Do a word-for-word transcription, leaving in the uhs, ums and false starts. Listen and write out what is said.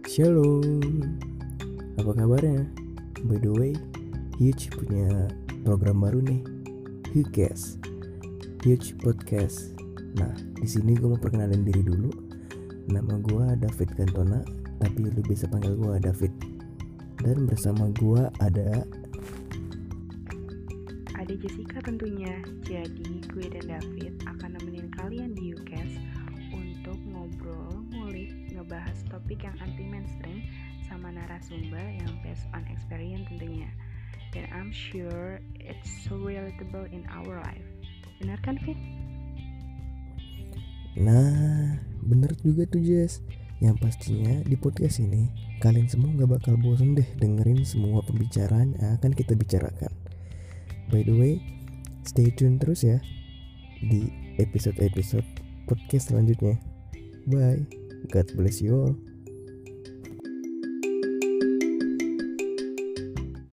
Shalom, apa kabarnya? By the way, Huge punya program baru nih, Hugcast, Huge Podcast. Nah, di sini gue mau perkenalin diri dulu. Nama gue David Cantona, tapi lu bisa panggil gue David. Dan bersama gue ada ada Jessica tentunya. Jadi gue dan David akan nemenin kalian di Hugcast untuk ngobrol, ngulik, ngebahas topik yang anti mainstream sama narasumber yang based on experience tentunya. Dan I'm sure it's so relatable in our life. Benar kan, Fit? Nah, bener juga tuh Jess. Yang pastinya di podcast ini kalian semua gak bakal bosan deh dengerin semua pembicaraan yang akan kita bicarakan. By the way, stay tune terus ya di episode-episode podcast selanjutnya. Bye, God bless you all.